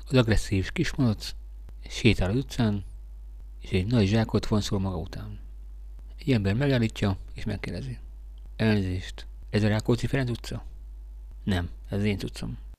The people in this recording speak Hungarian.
Az agresszív kismalac sétál az utcán, és egy nagy zsákot vonszol maga után. Egy ember megállítja, és megkérdezi. Elnézést, ez a Rákóczi Ferenc utca? Nem, ez az én utcam.